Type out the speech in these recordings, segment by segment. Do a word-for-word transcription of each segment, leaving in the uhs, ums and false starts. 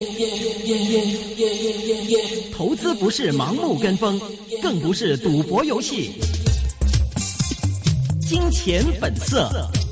投资不是盲目跟风，更不是赌博游戏。金钱本色。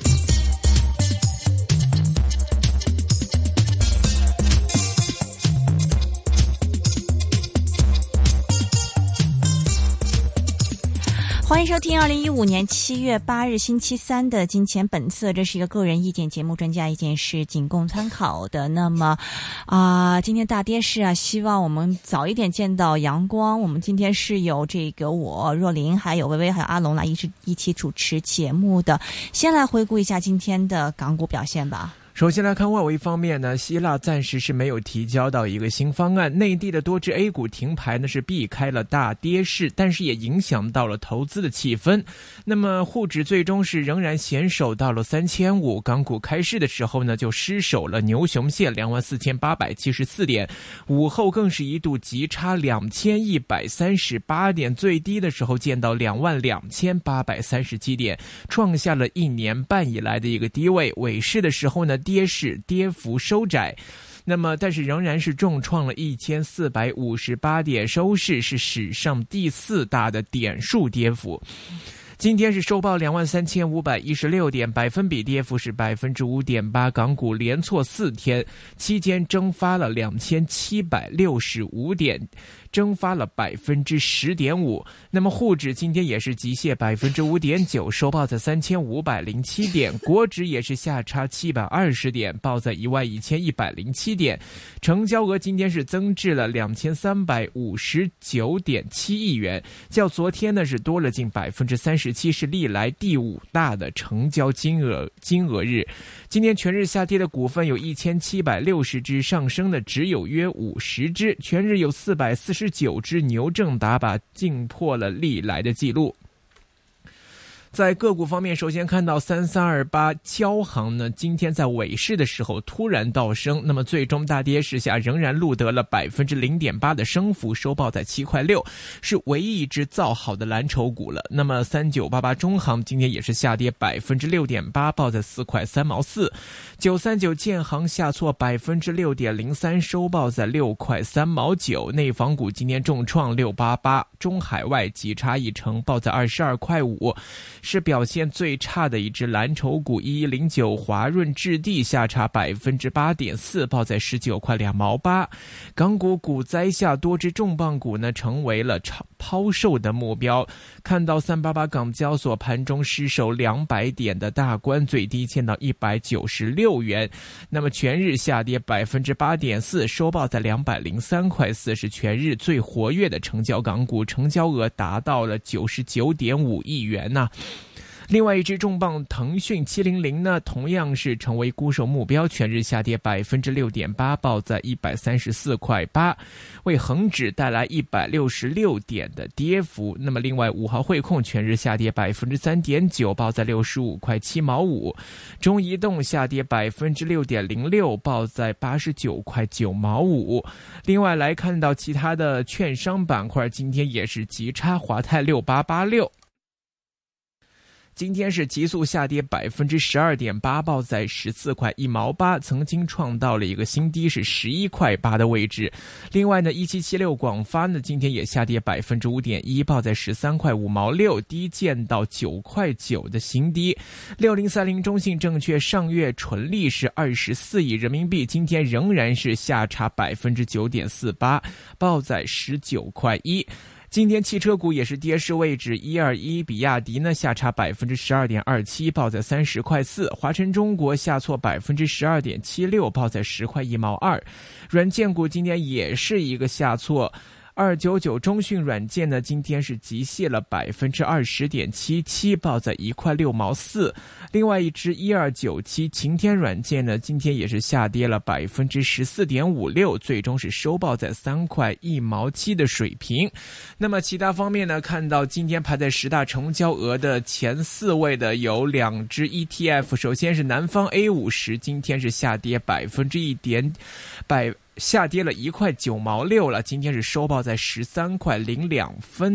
欢迎收听二零一五年七月八日星期三的金钱本色，这是一个个人意见节目，专家意见是仅供参考的。那么啊、呃，今天大跌市啊，希望我们早一点见到阳光。我们今天是有这个我若琳，还有微微，还有阿龙来一起一起主持节目的。先来回顾一下今天的港股表现吧。 首先来看外围方面呢，希腊暂时是没有提交到一个新方案，内地的多只 A 股停牌呢是避开了大跌势，但是也影响到了投资的气氛。那么沪指最终是仍然险守到了三千五，港股开市的时候呢就失守了牛熊线 两万四千八百七十四点，午后更是一度急插两千一百三十八点，最低的时候见到两万两千八百三十七点，创下了一年半以来的一个低位。尾市的时候呢跌势跌幅收窄，那么但是仍然是重创了一千四百五十八点，收市是史上第四大的点数跌幅。今天是收报两万三千五百一十六点，百分比跌幅是百分之五点八，港股连挫四天，期间蒸发了两千七百六十五点，蒸发了百分之十点五。那么沪指今天也是急泻百分之五点九，收报在三千五百零七点，国指也是下差七百二十点，报在一万一千一百零七点，成交额今天是增至了两千三百五十九点七亿元，较昨天呢是多了近百分之三十七，是历来第五大的成交金额金额日。今天全日下跌的股份有一千七百六十只，上升的只有约五十只，全日有四百四十九只牛证打靶，劲破了历来的记录。在个股方面，首先看到三三二八交行呢，今天在尾市的时候突然倒升，那么最终大跌市下仍然录得了百分之零点八的升幅，收报在七块六，是唯一一只造好的蓝筹股了。那么三九八八中行今天也是下跌百分之六点八，报在四块三毛四。九三九建行下挫百分之六点零三，收报在六块三毛九。内房股今天重创六八八，中海外急差一成，报在二十二块五。是表现最差的一只蓝筹股。一一零九华润置地下差百分之八点四，报在十九块两毛八。港股股灾下，多只重磅股呢成为了抛售的目标。看到三八八港交所盘中失守两百点的大关，最低见到一百九十六元，那么全日下跌百分之八点四，收报在两百零三块四，是全日最活跃的成交港股，成交额达到了九十九点五亿元呐、啊。另外一只重磅腾讯七零零呢，同样是成为沽售目标，全日下跌百分之六点八，报在一百三十四块八，为恒指带来一百六十六点的跌幅。那么另外五号汇控全日下跌百分之三点九，报在六十五块七毛五。中移动下跌百分之六点零六，报在八十九块九毛五。另外来看到其他的券商板块，今天也是急插，华泰六八八六。今天是急速下跌百分之十二点八，报在十四块一毛八，曾经创到了一个新低，是十一块八的位置。另外呢，一七七六广发呢，今天也下跌百分之五点一，报在十三块五毛六，低见到九块九的新低。六零三零中信证券上月纯利是二十四亿人民币，今天仍然是下差百分之九点四八，报在十九块一。今天汽车股也是跌势位置，一二一比亚迪呢下差百分之十二点二七，报在三十块四；华晨中国下挫百分之十二点七六，报在十块一毛二。软件股今天也是一个下挫。二九九中讯软件呢，今天是急泻了百分之二十点七七，报在一块六毛四。另外一只一二九七晴天软件呢，今天也是下跌了百分之十四点五六，最终是收报在三块一毛七的水平。那么其他方面呢，看到今天排在十大成交额的前四位的有两只 E T F， 首先是南方 A 五十，今天是下跌百分之一点百。下跌了一块九毛六了，今天是收报在十三块零两分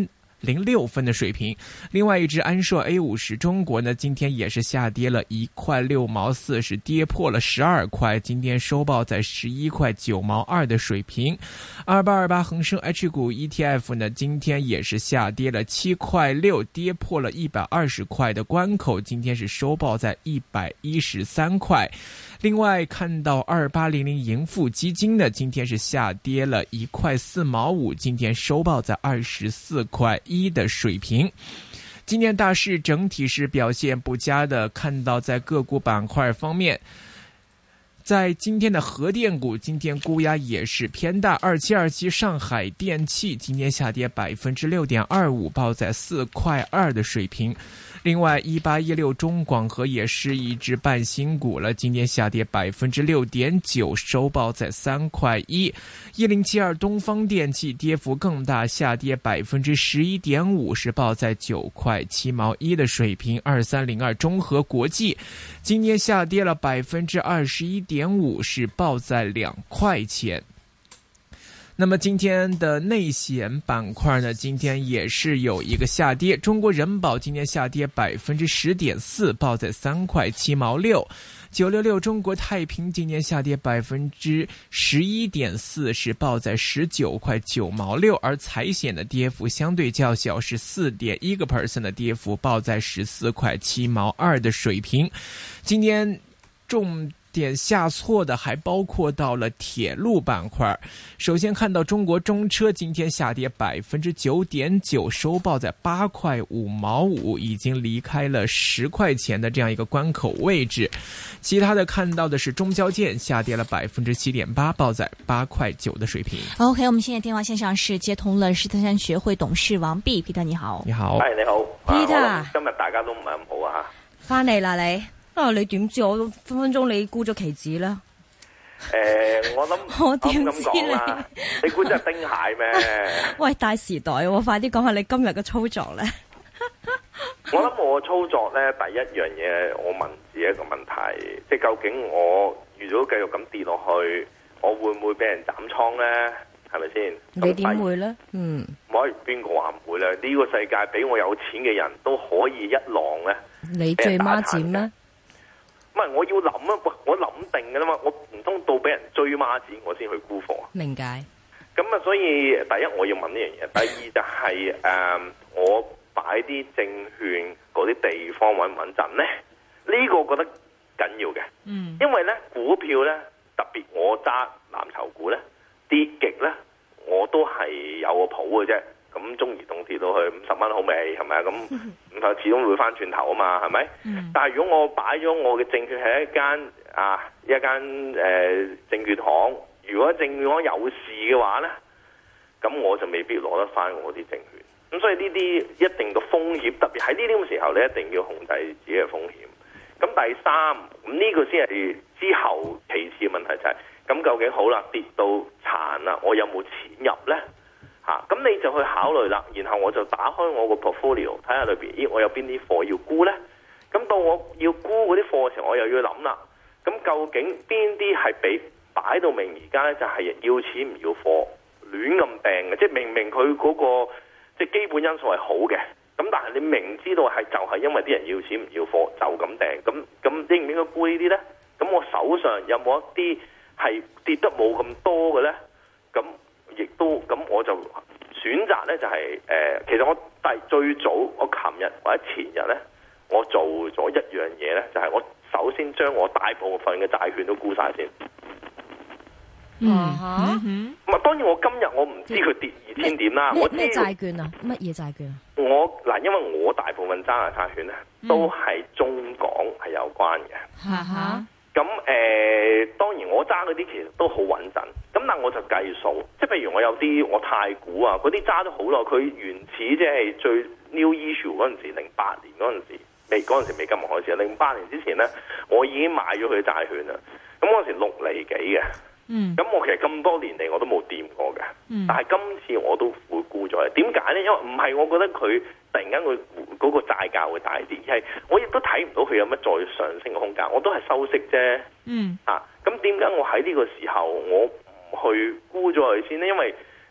零六分的水平。另外一只安硕 A 五十中国呢，今天也是下跌了一块六毛四，是跌破了十二块，今天收报在十一块九毛二的水平。二八二八恒生 H 股 E T F 呢，今天也是下跌了七块六，跌破了一百二十块的关口，今天是收报在一百一十三块。另外看到二八零零盈富基金呢，今天是下跌了一块四毛五，今天收报在二十四块一的水平。今年大市整体是表现不佳的，看到在个股板块方面，在今天的核电股，今天估压也是偏大，二七二七上海电气今天下跌百分之六点二五，报在四块二的水平。另外，一八一六中广核也是一只半新股了，今天下跌百分之六点九，收报在三块一。一零七二东方电气跌幅更大，下跌百分之十一点五，是报在九块七毛一的水平。二三零二中核国际今天下跌了百分之二十一点五，是报在两块钱。那么今天的内险板块呢，今天也是有一个下跌，中国人保今天下跌百分之十点四，报在三块七毛六。九六六中国太平今年下跌百分之十一点四，是报在十九块九毛六，而财险的跌幅相对较小，是四点一个 percent 的跌幅，报在十四块七毛二的水平。今天重点下挫的还包括到了铁路板块。首先看到中国中车今天下跌百分之九点九，收报在八块五毛五，已经离开了十块钱的这样一个关口位置。其他的看到的是中交建下跌了百分之七点八，报在八块九的水平。 OK， 我们现在電話線上是接通了獅子山學會董事王弼 Peter， 你好。 你好， 係你好 Peter， 啊、今日大家都唔係咁好啊。 翻嚟啦你。啊！你點知我分分鐘你沽咗期指啦？ 誒、呃，我諗我點知你？ 你估真係丁蟹咩？ 喂，大時代喎、哦，快啲講下你今日嘅操作咧。 我諗我操作咧，第一樣嘢我問自己一個問題，即係究竟我如果繼續咁跌落去，我會唔會俾人斬倉咧？係咪先？ 你點會咧？嗯， 唔可以邊個話唔會咧？呢、這個世界比我有錢嘅人都可以一浪咧。 你最孖展咩？ 唔係，我要諗啊！喂，我諗定㗎啦嘛，我唔通到俾人追孖展，我先去沽貨啊？ 明解。 咁啊，所以第一我要問呢樣嘢，第二就係、是、誒、呃，我擺啲證券嗰啲地方穩唔穩陣咧？呢、這個我覺得緊要嘅。嗯。因為咧股票咧，特別我揸藍籌股咧，跌極咧，我都係有個譜嘅啫。咁中移動跌到去五十蚊好未？係咪啊？咁咁就始終會翻轉頭啊嘛，係咪？嗯、但係如果我擺咗我嘅證券喺一間啊一間誒、呃、證券行，如果證券行有事嘅話咧，咁我就未必攞得翻我啲證券。咁所以呢啲一定個風險，特別喺呢啲咁嘅時候，你一定要控制自己嘅風險。咁第三，咁呢個先係之後其次嘅問題就係、是，咁究竟好啦，跌到殘啦，我有冇錢入咧？嚇，咁你就去考慮啦，然後我就打開我個 portfolio 睇下裏邊，咦，我有邊啲貨要沽呢？咁到我要沽嗰啲貨嘅時候，我又要諗啦。咁究竟邊啲係俾擺到明而家呢？就係要錢唔要貨，亂咁掟嘅，即係明明佢嗰個即係基本因素係好嘅，咁但係你明知道係就係因為啲人要錢唔要貨就咁掟，咁咁應唔應該沽呢啲呢？咁我手上有冇一啲係跌得冇咁多嘅呢？咁亦都咁，我就選擇咧就係、是、誒、呃，其實我第最早我琴日或者前日咧，我做咗一樣嘢咧，就係、是、我首先將我大部分嘅債券都沽晒先。 嗯嚇， 咁啊當然我今日我唔知佢跌二千點啦。我知咩債券啊？乜嘢債券啊？ 我嗱，因為我大部分揸嘅債券咧，都係中港係有關嘅。 嚇嚇。 咁誒、呃，當然我揸嗰啲其實都好穩陣，咁但我就計數，即係譬如我有啲我太古啊，嗰啲揸咗好耐，佢原始即係最 new issue 嗰陣時，零八年嗰陣時未嗰陣時未金融開始，零八年之前咧，我已經買咗佢債券啦。咁嗰陣時六厘幾嘅，嗯，咁我其實咁多年嚟我都冇掂過嘅，嗯、但係今次我都會沽咗。點解咧？因為唔係我覺得佢突然間佢嗰個債價會大跌，而係我亦都睇唔到佢有乜再上升嘅空間，我都係收息啫。嗯，啊，咁點解我喺呢個時候我唔去沽咗佢先呢？因為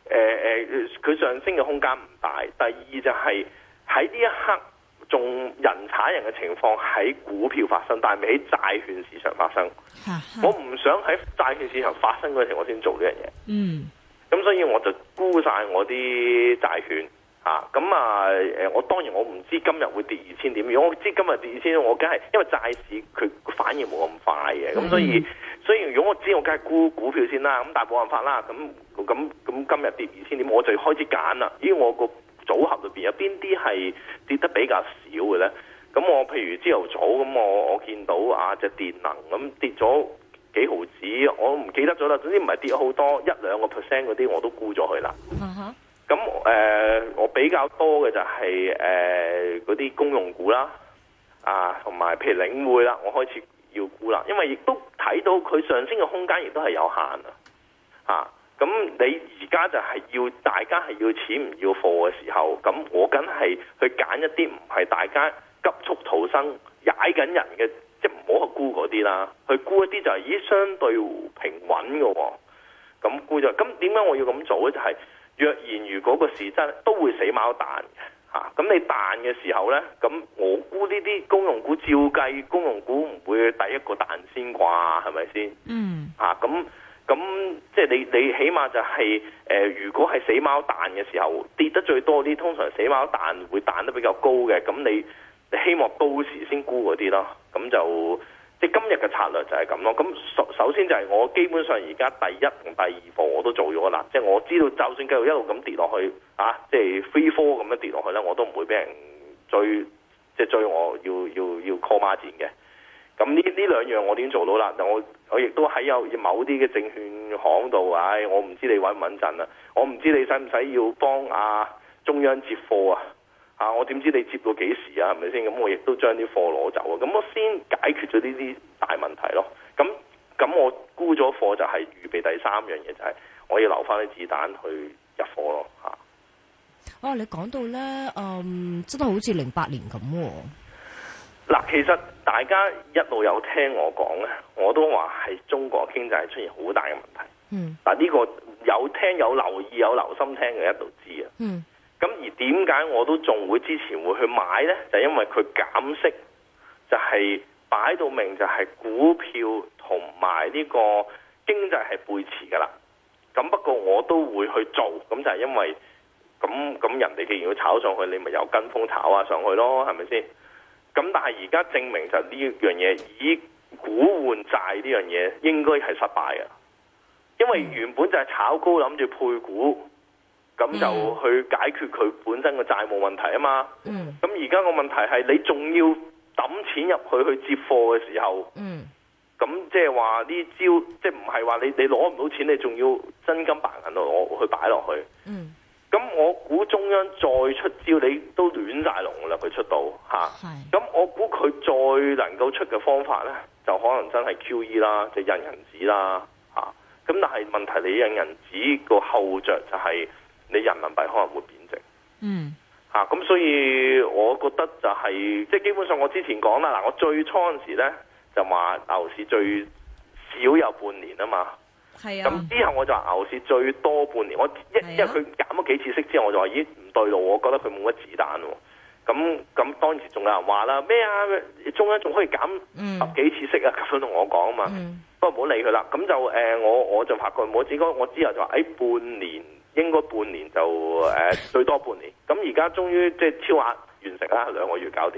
誒佢上升嘅空間唔大。第二就係喺呢一刻仲人踩人嘅情況喺股票發生，但係未喺債券市場發生。我唔想喺債券市場發生嗰陣時我先做呢樣嘢。 嗯， 咁所以我就沽晒我啲債券。啊，咁啊，誒，我當然我唔知今日會跌二千點。如果我知今日跌二千點，我梗係因為債市佢反應冇咁快嘅，咁、嗯、所以所以如果我知我梗係沽股票先啦。咁但係冇辦法啦。咁咁咁今日跌二千點，我就開始揀啦。咦，我個組合裏邊有邊啲係跌得比較少嘅咧？咁我譬如朝頭早咁，我我見到啊隻電能咁跌咗幾毫子，我唔記得咗啦。總之唔係跌好多，一兩個 percent 嗰啲我都沽咗佢啦。 Uh-huh. 咁誒、呃，我比較多嘅就係誒嗰啲公用股啦，啊，同埋譬如領匯啦，我開始要沽啦，因為亦都睇到佢上升嘅空間亦都係有限啊，啊，咁你而家就係要大家係要錢唔要貨嘅時候，咁我梗係去揀一啲唔係大家急速逃生踩緊人嘅，即係唔好去沽嗰啲啦，去沽一啲就係咦相對平穩嘅喎，咁沽咗，咁點解我要咁做咧？就係、是若然如果個市真都會死貓彈嘅嚇，咁、啊、你彈嘅時候呢，咁我估呢啲公用股照計，公用股唔會第一個彈先啩，係咪先？嗯。嚇咁咁即係你你起碼就係、是、誒、呃，如果係死貓彈嘅時候跌得最多啲，通常死貓彈會彈得比較高嘅，咁你你希望到時先沽嗰啲咯，咁就。即今日嘅策略就係咁咯。咁首首先就係我基本上而家第一同第二課我都做咗啦。即係我知道，就算繼續一路咁跌落去，啊，即係 free fall 咁樣跌落去咧，我都唔會俾人追，即係追我要要要 call 孖展嘅。咁呢呢兩樣我已經做到啦。但我我亦都喺有某啲嘅證券行度，唉、哎，我唔知你穩唔穩陣啊。我唔知你使唔使要幫啊中央接貨啊。啊！我點知你接到幾時啊？係咪先？咁我亦都將啲貨攞走啊！咁我先解決咗呢啲大問題咯。咁咁我沽咗貨就係預備第三樣嘢，就係、是、我要留翻啲子彈去入貨咯。嚇！ 哦，你講到咧，嗯，真係好似零八年咁喎。 嗱，其實大家一路有聽我講咧，我都話係中國經濟出現好大嘅問題。嗯。嗱，呢個有聽有留意有留心聽嘅一度知啊。嗯。咁而點解我都仲會之前會去買呢？就因為佢減息，就係擺到明就係股票同埋呢個經濟係背馳噶啦。咁不過我都會去做，咁就係因為咁咁人哋既然要炒上去，你咪又跟風炒下上去咯，係咪先？咁但係而家證明就呢樣嘢以股換債呢樣嘢應該係失敗嘅，因為原本就係炒高諗住配股。咁就去解決佢本身嘅債務問題啊嘛。咁而家個問題係你仲要抌錢入去去接貨嘅時候，咁即係話呢招，即係唔係話你你攞唔到錢，你仲要真金白銀攞去擺落去。咁、嗯、我估中央再出招，你都亂晒龍啦，佢出到嚇。咁我估佢再能夠出嘅方法呢，就可能真係 Q E 啦，即係印銀紙啦嚇。咁但係問題你印銀紙個後著就係、是。你人民幣可能會貶值，嗯，嚇、啊、咁，所以我覺得就係、是、即係基本上我之前講啦，嗱，我最初嗰陣時咧就話牛市最少有半年啊嘛，係啊，咁之後我就話牛市最多半年，我一、啊、因為佢減咗幾次息之後，我就話咦唔對路，我覺得佢冇乜子彈喎，咁咁當時仲有人話啦咩啊，中央仲可以減十幾次息啊，咁樣同我講啊嘛，嗯、不過唔好理佢啦，咁就誒、呃、我我就發覺我只講我之後就話誒、哎、半年。應該半年就誒、呃、最多半年，咁而家終於即係超額完成啦，兩個月搞掂。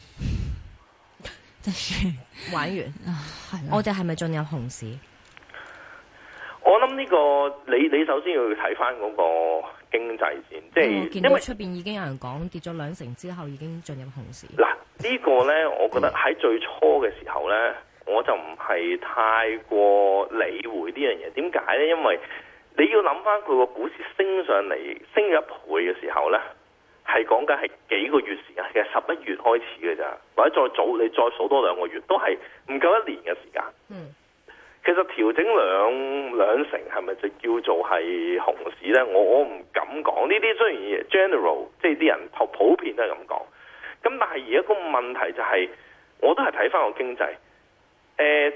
真係玩完啊！我哋係咪進入熊市？ 我諗呢、這個你你首先要睇翻嗰個經濟先，即係、嗯、 見到出邊已經有人講跌咗兩成之後已經進入熊市。 嗱，呢個咧，我覺得喺最初嘅時候咧，我就唔係太過理會呢樣嘢。點解咧？因為你要諗翻佢個股市升上嚟，升咗一倍嘅時候呢，係講緊係幾個月時間，其實十一月開始嘅咋，或者再早你再數多兩個月，都係唔夠一年嘅時間。嗯，其實調整兩兩成係咪就叫做係熊市呢？我我唔敢講。呢啲雖然 general，即係啲人普普遍都係咁講。咁但係而家個問題就係、是，我都係睇翻個經濟。誒、呃，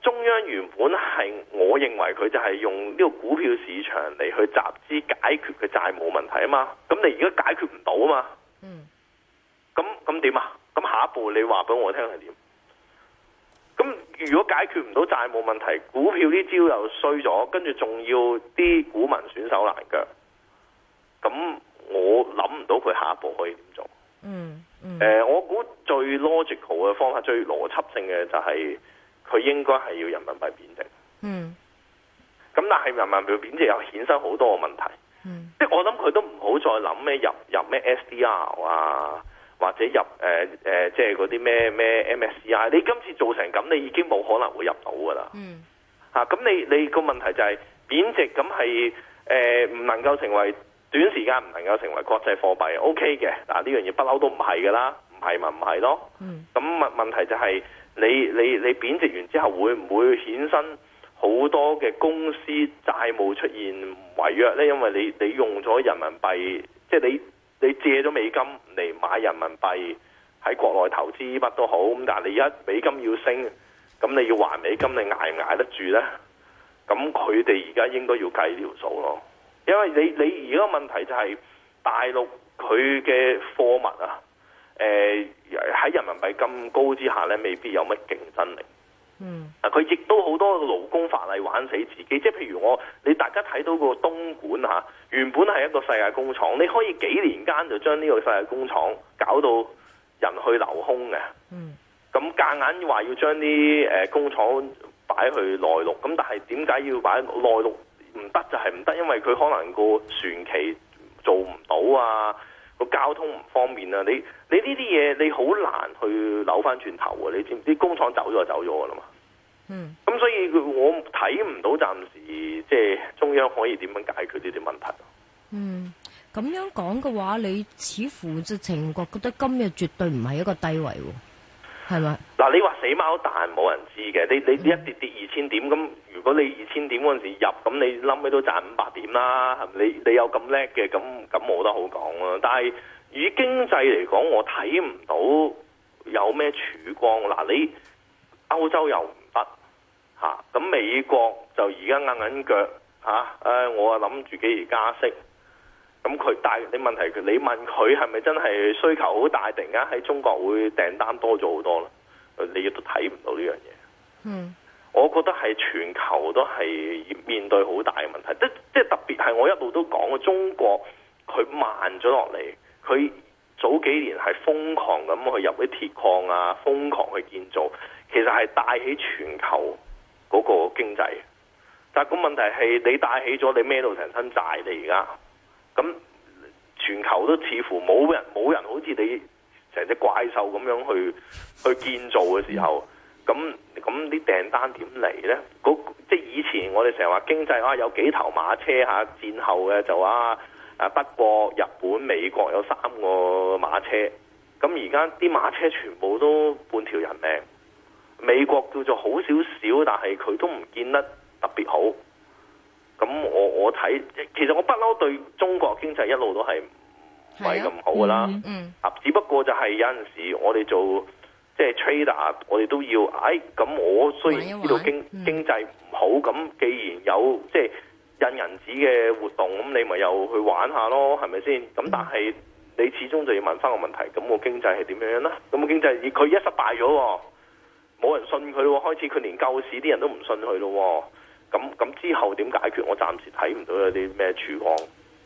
中央原本係我認為佢就係用呢個股票市場嚟去集資解決嘅債務問題啊嘛，咁你而家解決唔到啊嘛，嗯，咁咁點啊？咁下一步你話俾我聽係點？咁如果解決唔到債務問題，股票啲招又衰咗，跟住仲要啲股民損手爛腳，咁我諗唔到佢下一步可以點做。嗯，誒、嗯呃，我估最 logical 嘅方法，最邏輯性嘅就係佢應該係要人民幣貶值。嗯，咁但係人民幣貶值又衍生好多個問題。嗯，即係我諗佢都唔好再諗咩入入咩 S D R 啊。或者入誒誒、呃呃，即係嗰啲咩咩 M S C I， 你今次做成咁，你已經冇可能會入到噶啦。嗯。嚇、啊，咁你你個問題就係貶值，咁係誒唔能夠成為短時間唔能夠成為國際貨幣 ，OK 嘅。嗱、啊、呢樣嘢不嬲都唔係噶啦，唔係咪唔係咯？嗯。咁問問題就係你你你貶值完之後，會唔會衍生好多嘅公司債務出現違約咧？因為你你用咗人民幣，即係你。你借咗美金嚟買人民幣喺國內投資乜都好，咁但係你而家美金要升，咁你要還美金，你捱唔捱得住呢？咁佢哋而家應該要計條數咯，因為你你而家問題就係大陸佢嘅貨物啊，誒、呃、喺人民幣咁高之下呢，未必有乜競爭力。嗯，啊，佢亦都好多勞工法例玩死自己，即係譬如我，你大家睇到個東莞嚇，原本係一個世界工廠，你可以幾年間就將呢個世界工廠搞到人去樓空嘅。嗯，咁夾硬話要將啲誒工廠擺去內陸，咁但係點解要擺內陸？唔得就係唔得，因為佢可能個船期做唔到啊，個交通唔方便啊，你你呢啲嘢你好難去扭翻轉頭啊！你知唔知工廠走咗就走咗噶啦嘛？嗯，咁所以我睇唔到暫時即係中央可以點樣解決呢啲問題。嗯， 咁樣講嘅話，你似乎直情覺覺得今日絕對唔係一個低位喎，係咪？嗱， 你話死貓彈冇人知嘅，你你一跌跌二千點，咁、嗯、如果你二千點嗰陣時入，咁你冧尾都賺五百點啦，係咪？你你有咁叻嘅，咁咁冇得好講啊。但係以經濟嚟講，我睇唔到有咩曙光。嗱，你歐洲又唔得嚇，咁、啊、美國就而家硬硬腳嚇，誒、啊、我啊諗住幾時加息。咁佢但係你問題佢，你問佢係咪真係需求好大，突然間喺中國會訂單多咗好多咧？你亦都睇唔到呢樣嘢。嗯，我覺得係全球都係面對好大嘅問題，即即係特別係我一路都講嘅中國，佢慢咗落嚟，佢早幾年係瘋狂咁去入啲鐵礦啊，瘋狂去建造，其實係帶起全球嗰個經濟。但係個問題係你帶起咗，你孭到成身債，你而家。咁全球都似乎冇人冇人好似你成隻怪獸咁樣去去建造嘅時候，咁咁啲訂單點嚟呢？即係以前我哋成日話經濟啊有幾頭馬車嚇，戰後嘅就話啊德國、日本、美國有三個馬車，咁而家啲馬車全部都半條人命。美國叫做好少少，但係佢都唔見得特別好。咁我我睇，其實我不嬲對中國經濟一路都係唔係咁好噶啦。啊、嗯嗯，只不過就係有陣時我哋做即係 trader，我哋都要，哎，咁我雖然知道經玩玩經濟唔好，咁、嗯、既然有即係印銀紙嘅活動，咁你咪又去玩下咯，係咪先？咁但係你始終就要問翻個問題，咁個經濟係點樣樣啦？咁個經濟佢一失敗咗，冇人信佢咯，開始佢連救市啲人都唔信佢咯。咁咁之後點解決？我暫時睇唔到有啲咩曙光。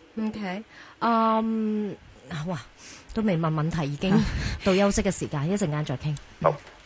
OK，嗯、um, 哇，都未問問題，已經到休息嘅時間，一陣間再傾。好。